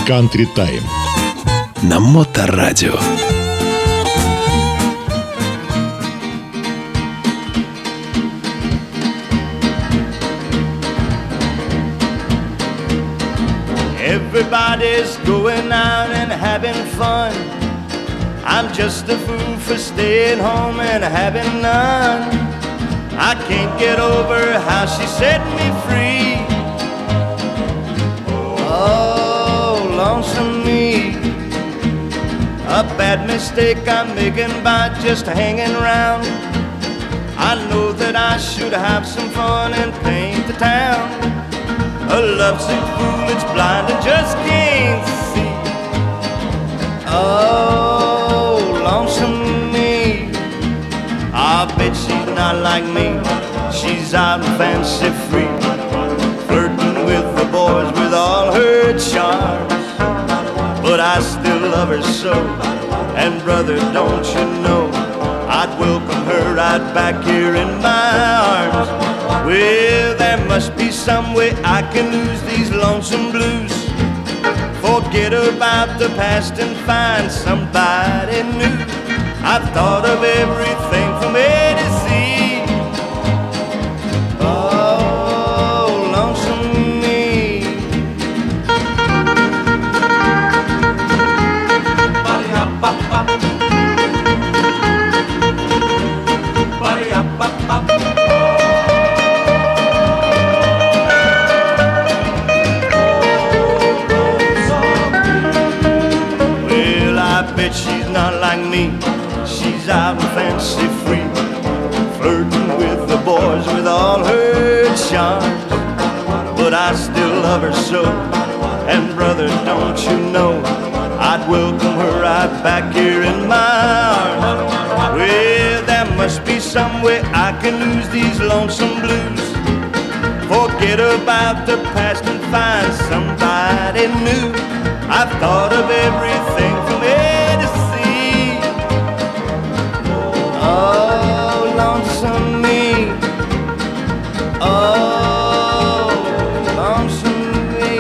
Country Time на Моторадио. Everybody's going out and having fun. I'm just a fool for staying home and having none. I can't get over how she set me free. Oh, lonesome me. A bad mistake I'm making by just hanging around. I know that I should have some fun and paint the town. A lovesick fool that's blind and just can't see. Oh, lonesome me. I bet she's not like me. She's out and fancy free, flirting with the boys with all her charms. But I still love her so, and brother, don't you know, I'd welcome her right back here in my arms. Well, there must be some way I can lose these lonesome blues, forget about the past and find somebody new. I've thought of everything from A to Z. Oh, lonesome me. Ba-de-up-bop-bop. Ba-de-up-bop-bop. Well, I bet she's not like me. She's out and fancy free, flirting with the boys with all her charms. But I still love her so, and brother, don't you know, I'd welcome her right back here in my arms. Well, there must be some way I can lose these lonesome blues, forget about the past and find somebody new. I've thought of everything from A to Z. Oh, lonesome me. Oh, lonesome me.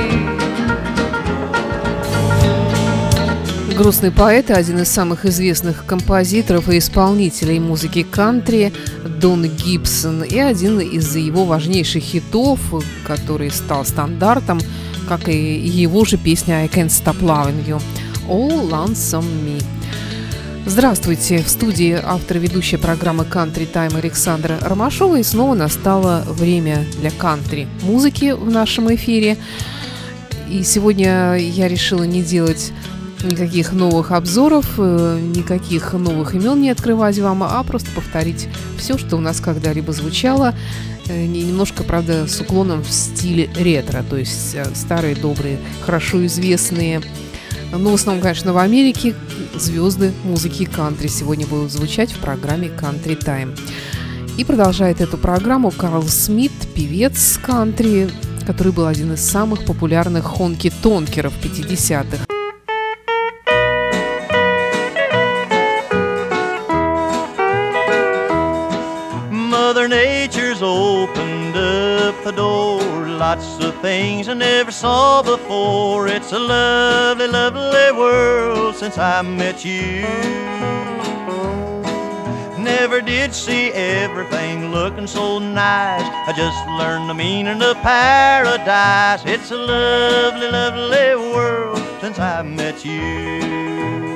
Грустный поэт и один из самых известных композиторов и исполнителей музыки кантри Дон Гибсон, и один из его важнейших хитов, который стал стандартом, как и его же песня «I Can't Stop Loving You» «Oh, Lonesome Me». Здравствуйте! В студии автор и ведущая программы «Country Time» Александра Ромашова, и снова настало время для кантри-музыки в нашем эфире. И сегодня я решила не делать никаких новых обзоров, никаких новых имен не открывать вам, а просто повторить все, что у нас когда-либо звучало, немножко, правда, с уклоном в стиле ретро, то есть старые, добрые, хорошо известные, но в основном, конечно, в Америке звезды музыки кантри сегодня будут звучать в программе Country Time. И продолжает эту программу Карл Смит, певец кантри, который был один из самых популярных хонки-тонкеров 50-х. Mother Nature's opened up the door, lots of things I never saw before. It's a lovely, lovely world since I met you. Never did see everything looking so nice. I just learned the meaning of paradise. It's a lovely, lovely world since I met you.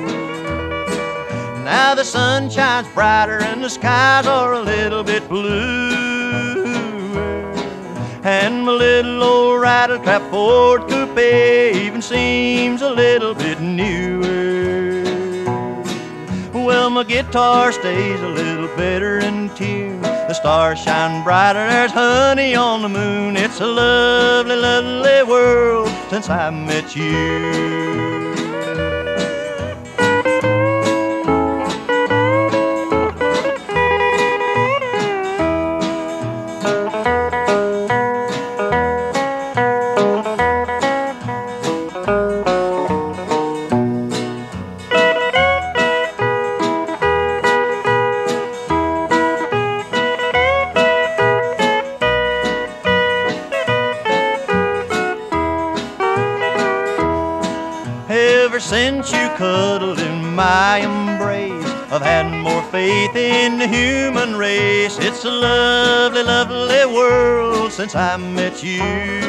Now the sun shines brighter and the skies are a little bit blue, and my little old rattletrap Ford coupe even seems a little bit newer. Well, my guitar stays a little better in tune. The stars shine brighter, there's honey on the moon. It's a lovely, lovely world since I met you. ever since you cuddled in my embrace, I've had more faith in the human race. It's a lovely, lovely world since I met you.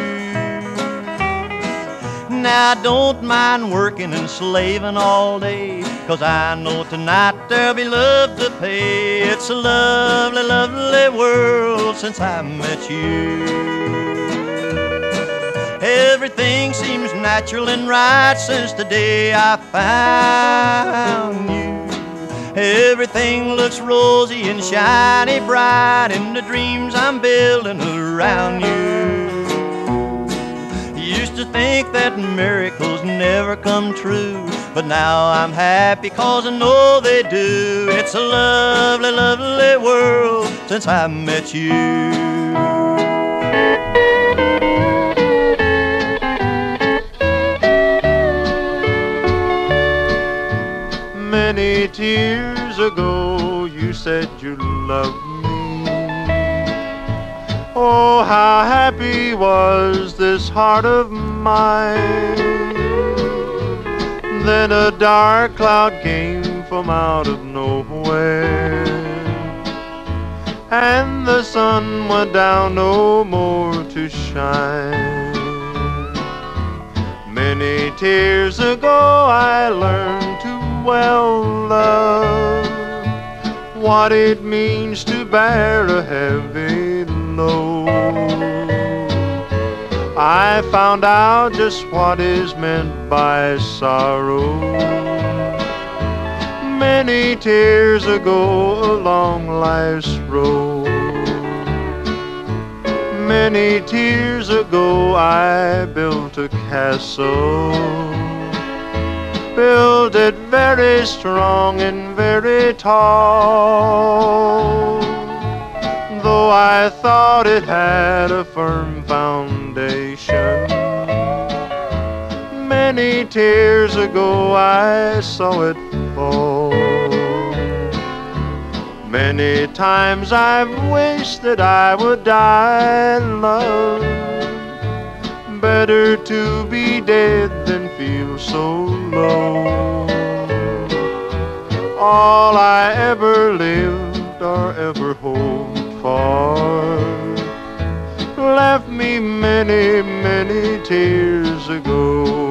Now I don't mind working and slaving all day, 'cause I know tonight there'll be love to pay. It's a lovely, lovely world since I met you. Everything seems natural and right since the day I found you. Everything looks rosy and shiny bright in the dreams I'm building around you. Used to think that miracles never come true, but now I'm happy 'cause I know they do. It's a lovely, lovely world since I met you. Many tears ago you said you loved me. Oh, how happy was this heart of mine. Then a dark cloud came from out of nowhere, and the sun went down no more to shine. Many tears ago I learned to well love, what it means to bear a heavy load. I found out just what is meant by sorrow many tears ago along life's road. Many tears ago I built a castle, built it very strong and very tall, though I thought it had a firm foundation. Many tears ago I saw it fall. Many times I've wished that I would die, love. Better to be dead than feel so low. All I ever lived or ever hoped for left me many, many tears ago.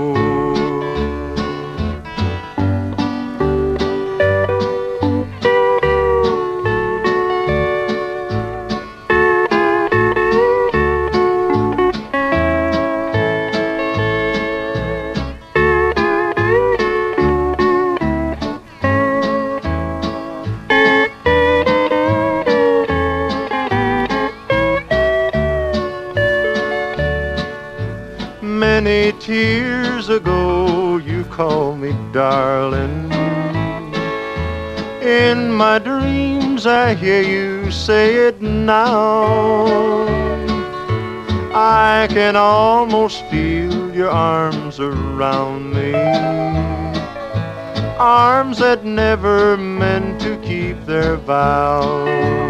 Many tears ago you called me darling. In my dreams I hear you say it now. I can almost feel your arms around me, arms that never meant to keep their vow.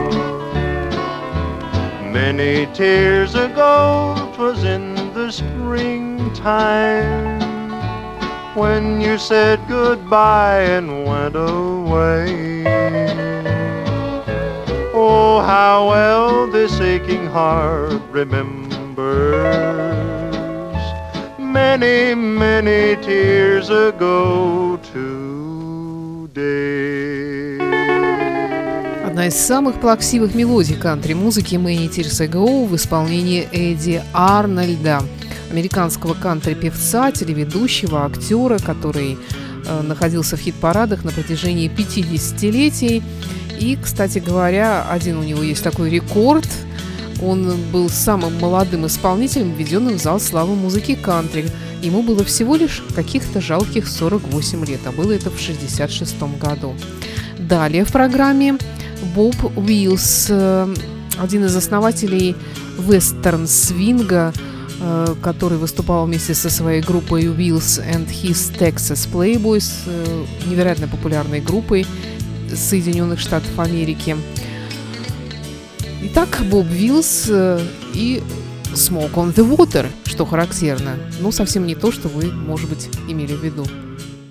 Many tears ago 'twas in the springtime when you said goodbye and went away. Oh, how well this aching heart remembers many, many tears ago today. Одна из самых плаксивых мелодий кантри-музыки «Many Tears Ago» в исполнении Эдди Арнольда, американского кантри-певца, телеведущего, актера, который находился в хит-парадах на протяжении 50-летий. И, кстати говоря, один у него есть такой рекорд. Он был самым молодым исполнителем, введенным в зал славы музыки кантри. Ему было всего лишь каких-то жалких 48 лет, а было это в 1966 году. Далее в программе Боб Уиллс, один из основателей вестерн-свинга, который выступал вместе со своей группой Wills and His Texas Playboys, невероятно популярной группой Соединенных Штатов Америки. Итак, Боб Уиллс и Smoke on the Water, что характерно, но совсем не то, что вы, может быть, имели в виду.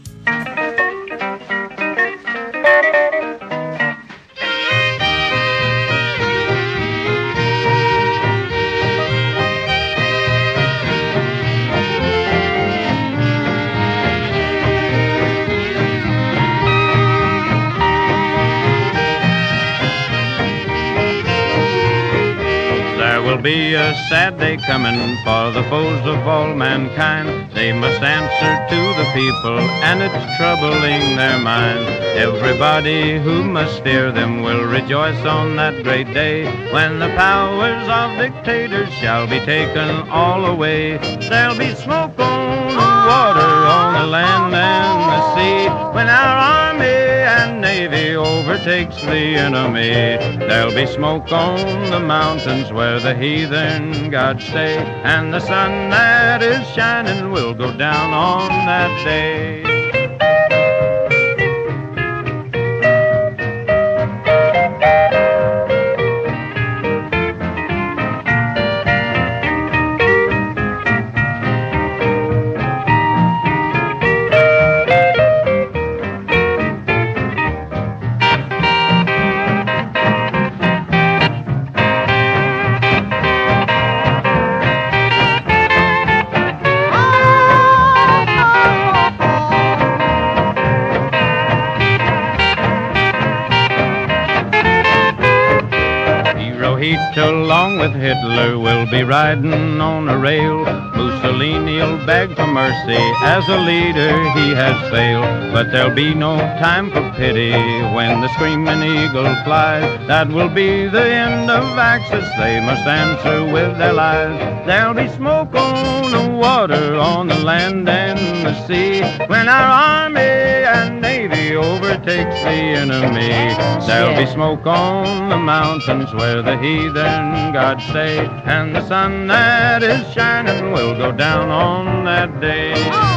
There'll be a sad day coming for the foes of all mankind. They must answer to the people, and it's troubling their minds. Everybody who must fear them will rejoice on that great day, when the powers of dictators shall be taken all away. There'll be smoke on the water, on the land and the sea, when our army and navy overtakes the enemy. There'll be smoke on the mountains where the heathen gods stay, and the sun that is shining will go down on that day. Along with Hitler will be riding on a rail. Mussolini'll beg for mercy, as a leader he has failed. But there'll be no time for pity when the screaming eagle flies. That will be the end of Axis, they must answer with their lives. There'll be smoke on the water, on the land and the sea, when our army and navy overtakes the enemy. There'll be smoke on the mountains where the heathen gods stay, and the sun that is shining will go down on that day.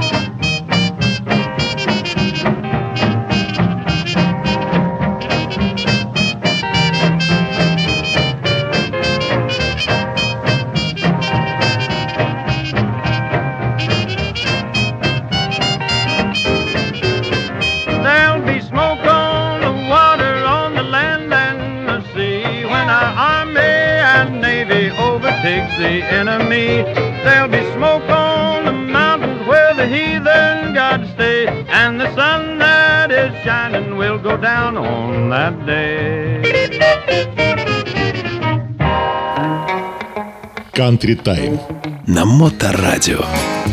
There'll be smoke on the water, on the land and the sea, when our army and navy overtakes the enemy. There'll be smoke on the mountains where the heathen gods stay, and the sun that is shining will go down on that day. Country Time на Моторадио.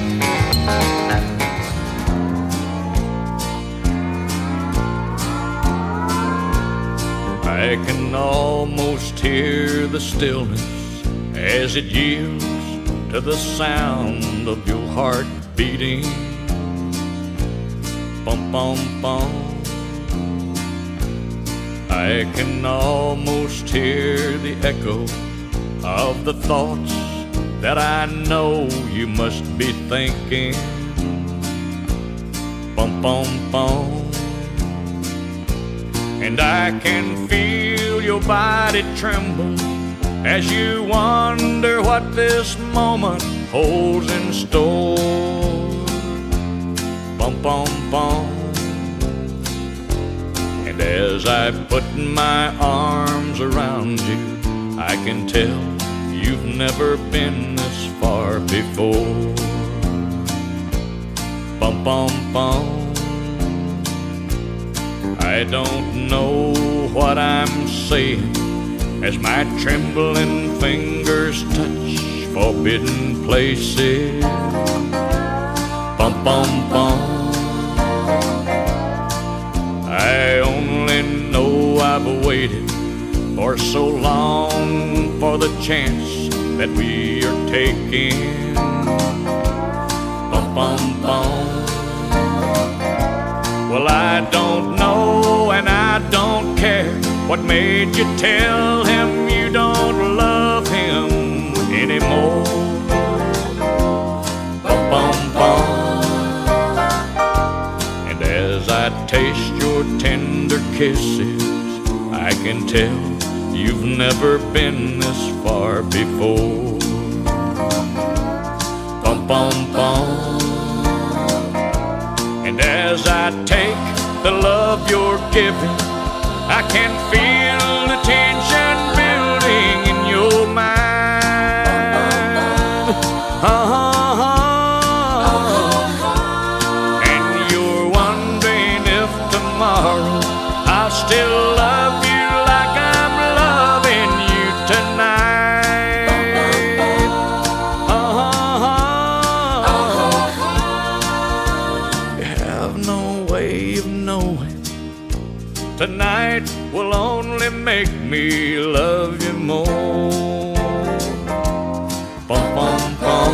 I can almost hear the stillness as it yields to the sound of your heart beating. Bum, bum, bum. I can almost hear the echo of the thoughts that I know you must be thinking. Bum, bum, bum. And I can feel your body tremble as you wonder what this moment holds in store. Bum, bum, bum. And as I put my arms around you, I can tell you've never been this far before. Bum, bum, bum. I don't know what I'm saying as my trembling fingers touch forbidden places. Bum, bum, bum. I only know I've waited for so long for the chance that we are taking. Bum, bum, bum. Well, I don't know and I don't care what made you tell him you don't love him anymore. Bum, bum, bum. And as I taste your tender kisses, I can tell you've never been this far before. Bum, bum, bum. And as I take the love you're giving, I can feel the tension building in your mind. And you're wondering if tomorrow I'll still love you like I'm loving you tonight. knowing tonight will only make me love you more. Bum, bum, bum.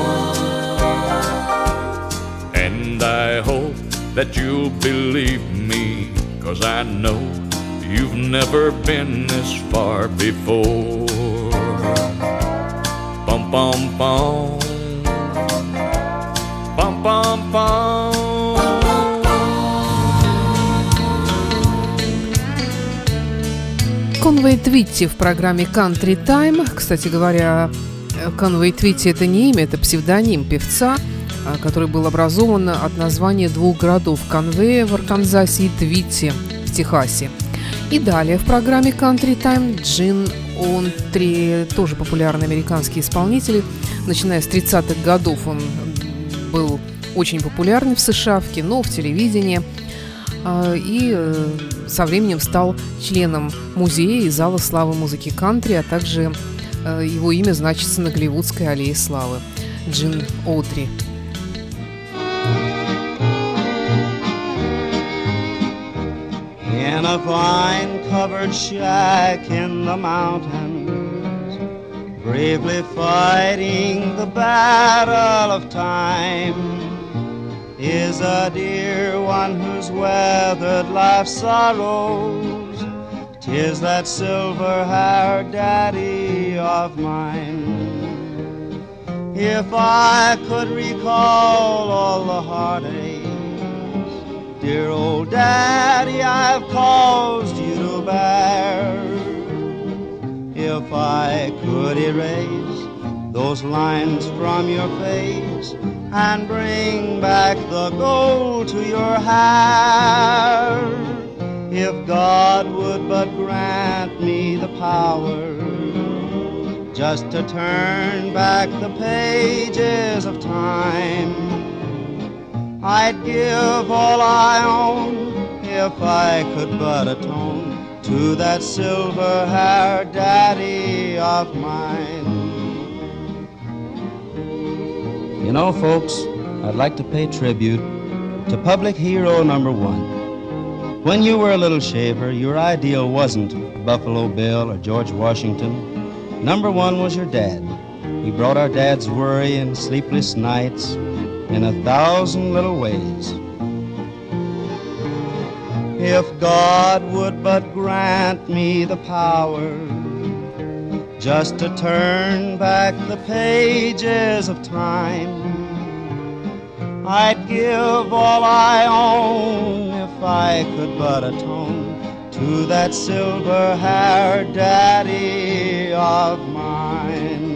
And I hope that you'll believe me, 'cause I know you've never been this far before. Bum, bum, bum. Bum, bum, bum. Конвей Твитти в программе Country Time. Кстати говоря, Конвей Твитти — это не имя, это псевдоним певца, который был образован от названия двух городов — Конвея в Арканзасе и Твитти в Техасе. И далее в программе Country Time Джин Онтри, тоже популярный американский исполнитель. Начиная с 30-х годов он был очень популярен в США, в кино, в телевидении. И со временем стал членом музея и зала славы музыки кантри, а также его имя значится на Голливудской аллее славы. Джин Оутри. In a vine-covered shack in the mountains, bravely fighting the battle of time, is a dear one who's weathered life's sorrows. 'Tis that silver-haired daddy of mine. If I could recall all the heartaches, dear old daddy, I've caused you to bear. If I could erase those lines from your face and bring back the gold to your hair, if God would but grant me the power just to turn back the pages of time, I'd give all I own if I could but atone to that silver-haired daddy of mine. You know, folks, I'd like to pay tribute to public hero number one. When you were a little shaver, your ideal wasn't Buffalo Bill or George Washington. Number one was your dad. He brought our dads worry and sleepless nights in 1,000 little ways. If God would but grant me the power just to turn back the pages of time, I'd give all I own if I could but atone to that silver-haired daddy of mine.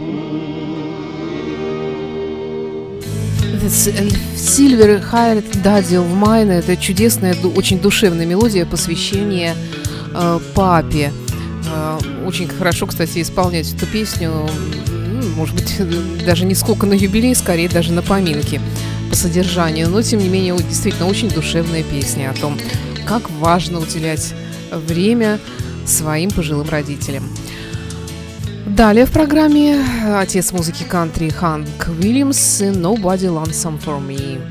Silver-haired daddy of mine — это чудесная, очень душевная мелодия посвящения папе. Очень хорошо, кстати, исполнять эту песню, может быть, даже не сколько на юбилей, скорее даже на поминки по содержанию, но, тем не менее, действительно очень душевная песня о том, как важно уделять время своим пожилым родителям. Далее в программе отец музыки кантри Ханк Уильямс «Nobody Lonesome for Me».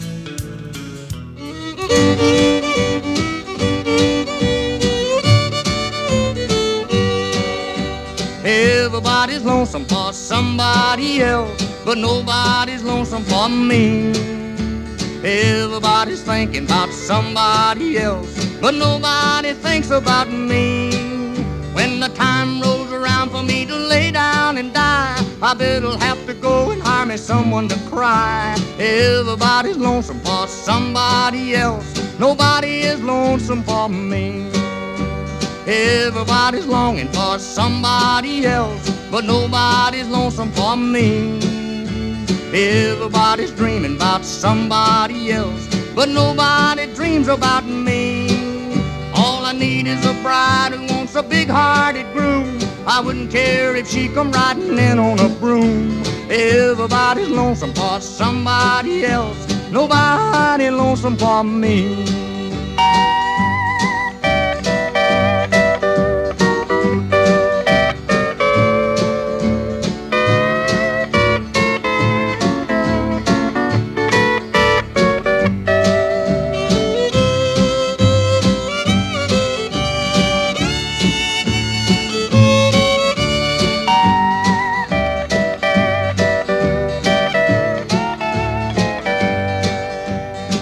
Everybody's lonesome for somebody else, but nobody's lonesome for me. Everybody's thinking about somebody else, but nobody thinks about me. When the time rolls around for me to lay down and die, I better'll have to go and hire me someone to cry. Everybody's lonesome for somebody else, nobody is lonesome for me. Everybody's longing for somebody else, but nobody's lonesome for me. Everybody's dreaming about somebody else, but nobody dreams about me. All I need is a bride who wants a big-hearted groom. I wouldn't care if she come riding in on a broom. Everybody's lonesome for somebody else, nobody lonesome for me.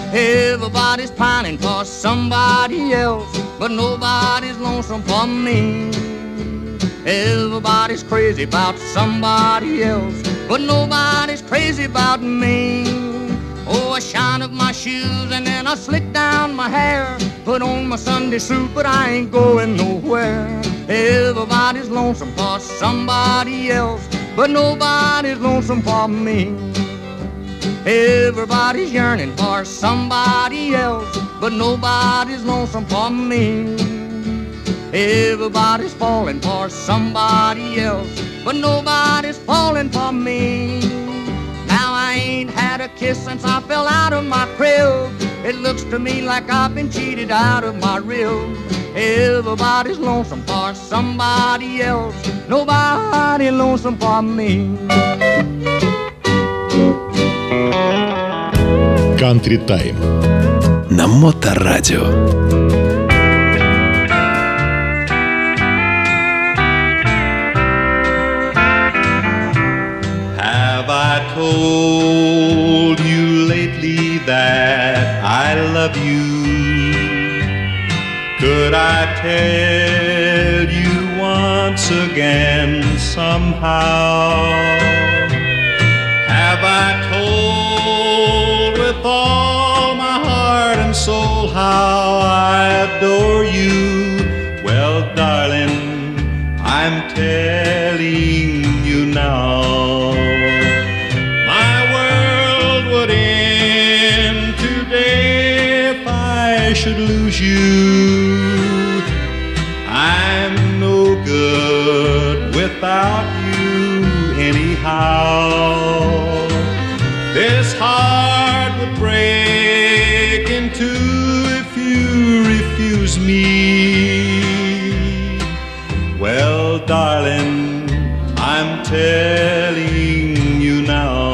Everybody's pining for somebody else, but nobody's lonesome for me. Everybody's crazy about somebody else, but nobody's crazy about me. Oh, I shine up my shoes and then I slick down my hair, put on my Sunday suit, but I ain't going nowhere. Everybody's lonesome for somebody else, but nobody's lonesome for me. Everybody's yearning for somebody else, but nobody's lonesome for me. Everybody's falling for somebody else, but nobody's falling for me. Now I ain't had a kiss since I fell out of my crib. It looks to me like I've been cheated out of my rib. Everybody's lonesome for somebody else, nobody lonesome for me. Country Time на Моторадио. Have I told you lately that I love you? Could I tell you once again somehow? Have I told with all my heart and soul how I adore you? Well, darling, I'm telling you now. My world would end today if I should lose you. I'm no good without you anyhow. This heart would break in two if you refuse me. Well, darling, I'm telling you now.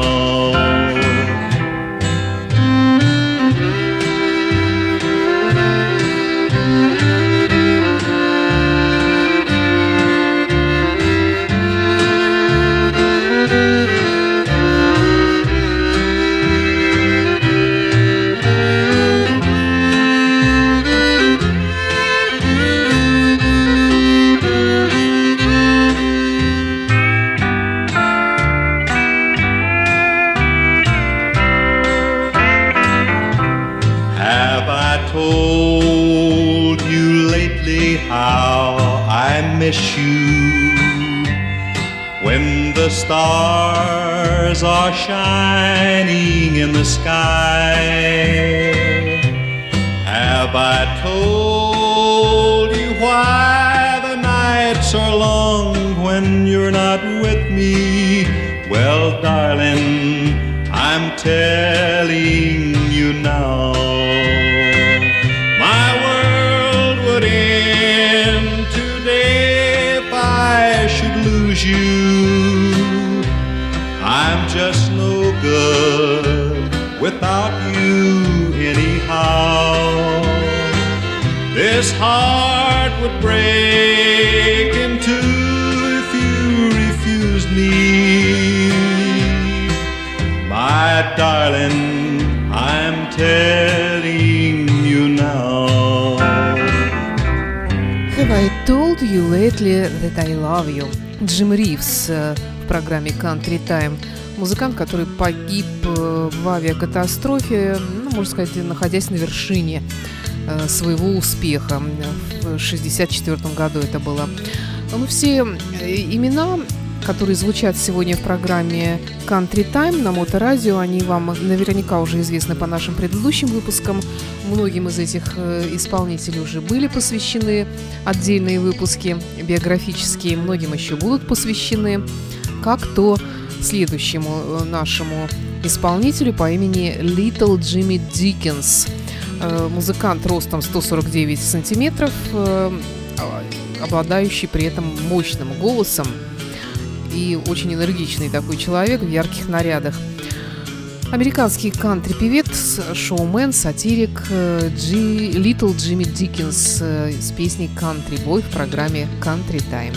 Told you lately how I miss you when the stars are shining in the sky. Have I told you why the nights are long when you're not with me? Well, darling, I'm telling you now. You, I'm just no good without you anyhow. This heart would break in two if you refused me. My darling, I'm telling you now. Have I told you lately that I love you? Джим Ривз в программе Country Time. Музыкант, который погиб в авиакатастрофе, можно сказать, находясь на вершине своего успеха. В 1964 году это было. Все имена, которые звучат сегодня в программе Country Time на Моторадио, они вам наверняка уже известны по нашим предыдущим выпускам. Многим из этих исполнителей уже были посвящены отдельные выпуски биографические, многим еще будут посвящены, как то следующему нашему исполнителю по имени Little Jimmy Dickens. Музыкант ростом 149 сантиметров, обладающий при этом мощным голосом и очень энергичный такой человек в ярких нарядах. Американский кантри-певец, шоумен, сатирик Little Jimmy Dickens с песней «Country Boy» в программе Country Time.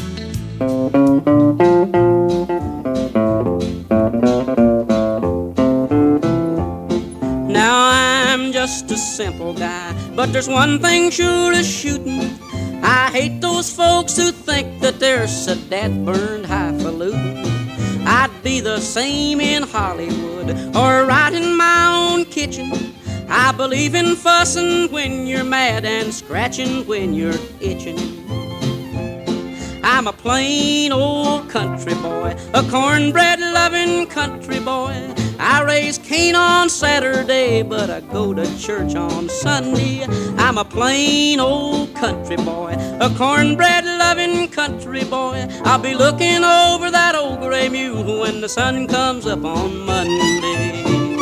Now I'm I'm just a simple guy, but there's one thing sure as shooting. I hate those folks who think that they're so dead-burned highfalutin. I'd be the same in Hollywood or right in my own kitchen. I believe in fussing when you're mad and scratching when you're itching. I'm a plain old country boy, a cornbread-loving country boy. I raise Cain on Saturday, but I go to church on Sunday. I'm a plain old country boy, a cornbread-loving country boy. I'll be looking over that old gray mule when the sun comes up on Monday.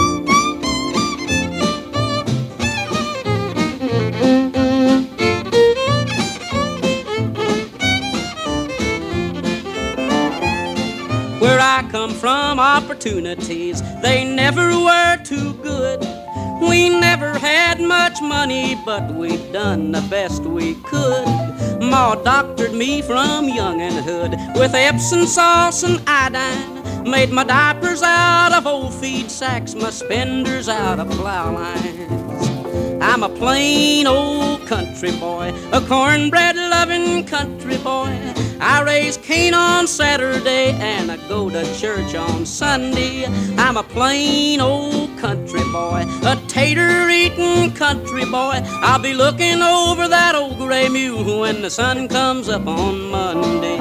Where I come from, opportunities, they never were too good. We never had much money, but we've done the best we could. Ma doctored me from younginhood with Epsom sauce and iodine. Made my diapers out of old feed sacks, my spenders out of plow lines. I'm a plain old country boy, a cornbread-loving country boy. I raise Cain on Saturday and I go to church on Sunday. I'm a plain old country boy, a tater-eating country boy. I'll be looking over that old gray mule when the sun comes up on Monday.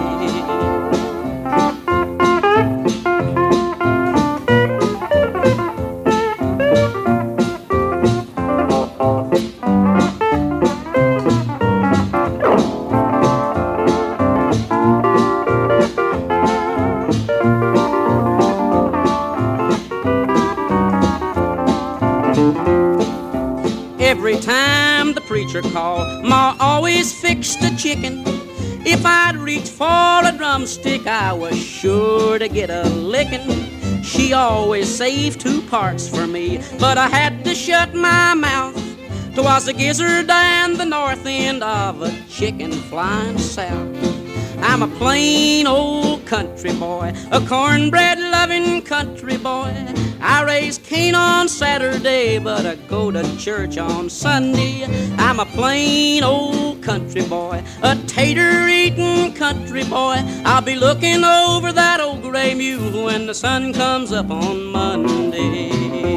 Every time the preacher called, Ma always fixed a chicken. If I'd reach for a drumstick, I was sure to get a licking. She always saved 2 parts for me, but I had to shut my mouth. 'Twas the gizzard and the north end of a chicken flying south. I'm a plain old country boy, a cornbread-loving country boy. I raise Cain on Saturday, but I go to church on Sunday. I'm a plain old country boy, a tater-eating country boy. I'll be looking over that old gray mule when the sun comes up on Monday.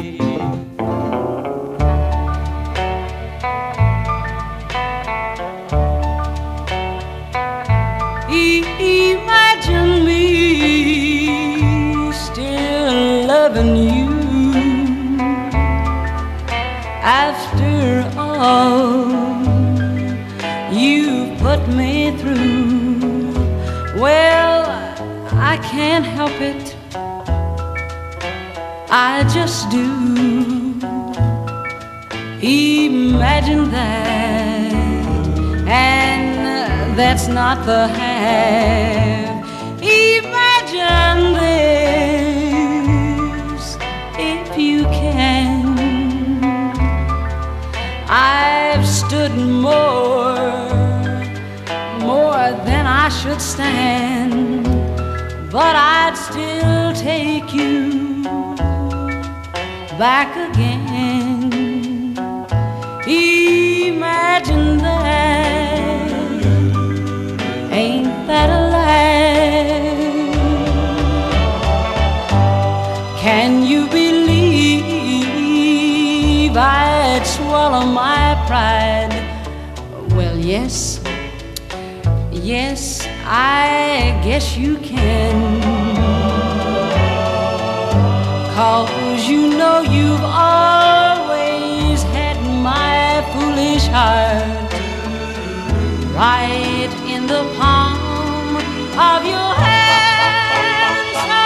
Imagine me still loving you after all you put me through. Well, I can't help it, I just do. Imagine that, and that's not the half. Imagine this, if you can. I've stood more than I should stand, but I'd still take you back again. Imagine that, ain't that a laugh? Can you believe I'd swallow my pride? Well, yes, I guess you can. 'Cause you know you've always had my foolish heart right in the palm of your hand. So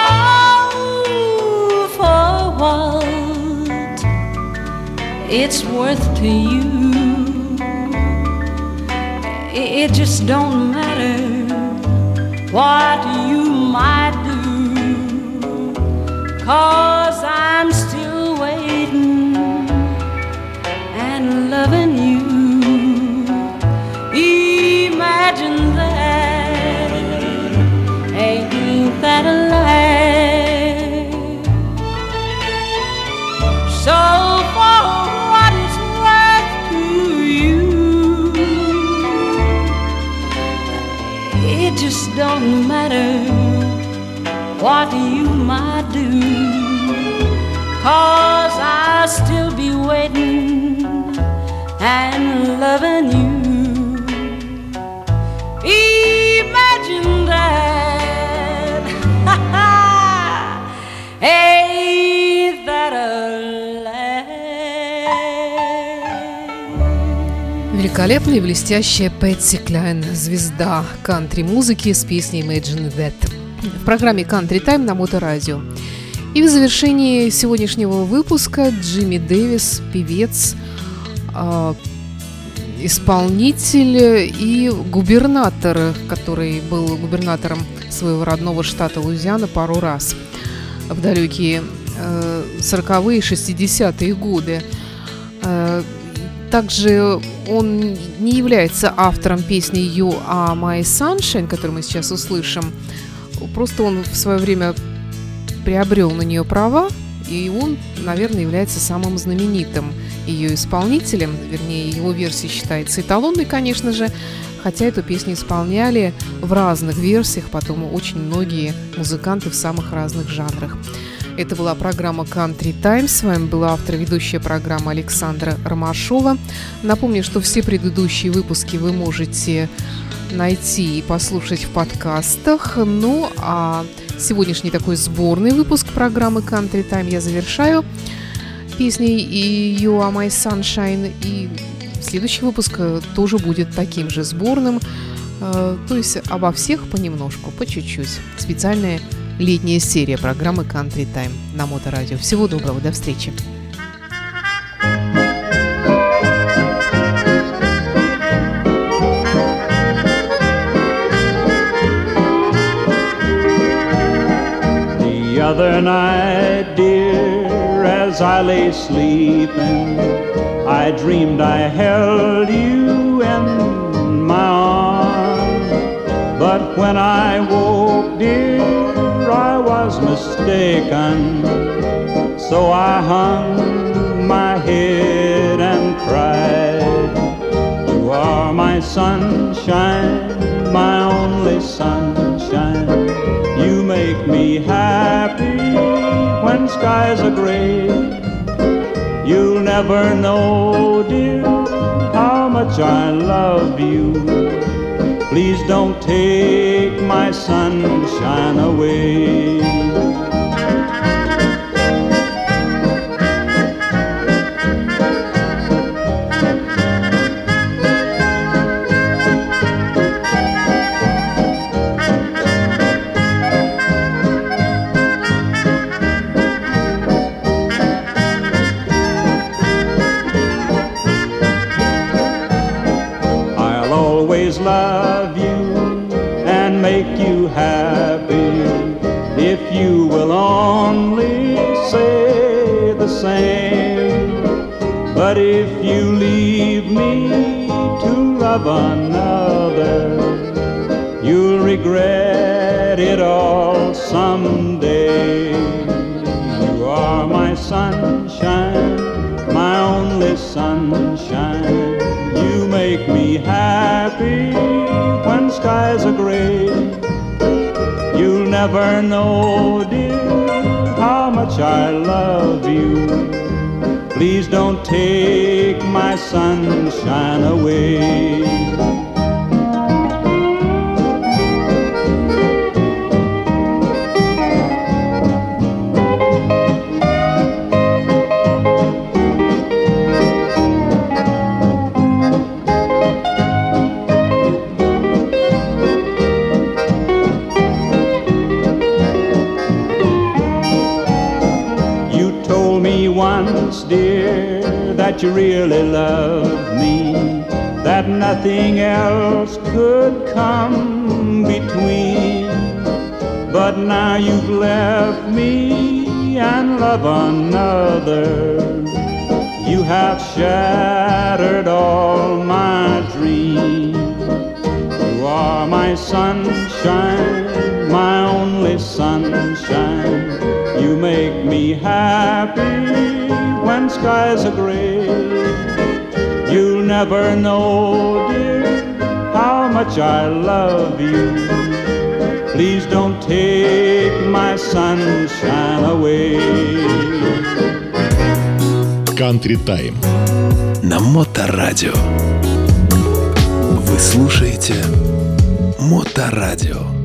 for what it's worth to you, it just don't matter what you might do. 'Cause I'm still waiting and loving you. Imagine that, ain't that a life? So for what it's and loving you. Imagine that. Ain't that a lie? Великолепная и блестящая Пэтси Клайн, звезда кантри-музыки с песней Imagine That в программе Country Time на Моторадио. И в завершении сегодняшнего выпуска Джимми Дэвис, певец, исполнитель и губернатор, который был губернатором своего родного штата Луизиана пару раз в далекие 40-е и 60-е годы. Также он не является автором песни You Are My Sunshine, которую мы сейчас услышим. Просто он в свое время приобрел на нее права, и он, наверное, является самым знаменитым ее исполнителем. Вернее, его версия считается эталонной, конечно же, хотя эту песню исполняли в разных версиях потом очень многие музыканты в самых разных жанрах. Это была программа Country Time. С вами была автор и ведущая программы Александра Ромашова. Напомню, что все предыдущие выпуски вы можете найти и послушать в подкастах. Ну, а сегодняшний такой сборный выпуск программы Country Time я завершаю песней You Are My Sunshine. И следующий выпуск тоже будет таким же сборным. То есть обо всех понемножку, по чуть-чуть. Специальная летняя серия программы Country Time на Моторадио. Всего доброго, до встречи. The other night, dear, as I lay sleeping, I dreamed I held you in my arms. But when I woke, dear, I was mistaken. So I hung my head and cried. You are my sunshine, my only sunshine. You make me happy when skies are gray. You'll never know, dear, how much I love you. Please don't take my sunshine away. Love you and make you happy if you will only say the same. But if you leave me to love another, you'll regret it all someday. You are my sunshine, my only sunshine. You make me happy when skies are gray. You'll never know, dear, how much I love you. Please don't take my sunshine away. Once, dear, that you really loved me, that nothing else could come between. But now you've left me and love another. You have shattered all my dreams. You are my sunshine, my only sunshine. You make me happy when skies are gray. You'll never know, dear, how much I love you. Please don't take my sunshine away. Country Time на Моторадио. Вы слушаете Моторадио.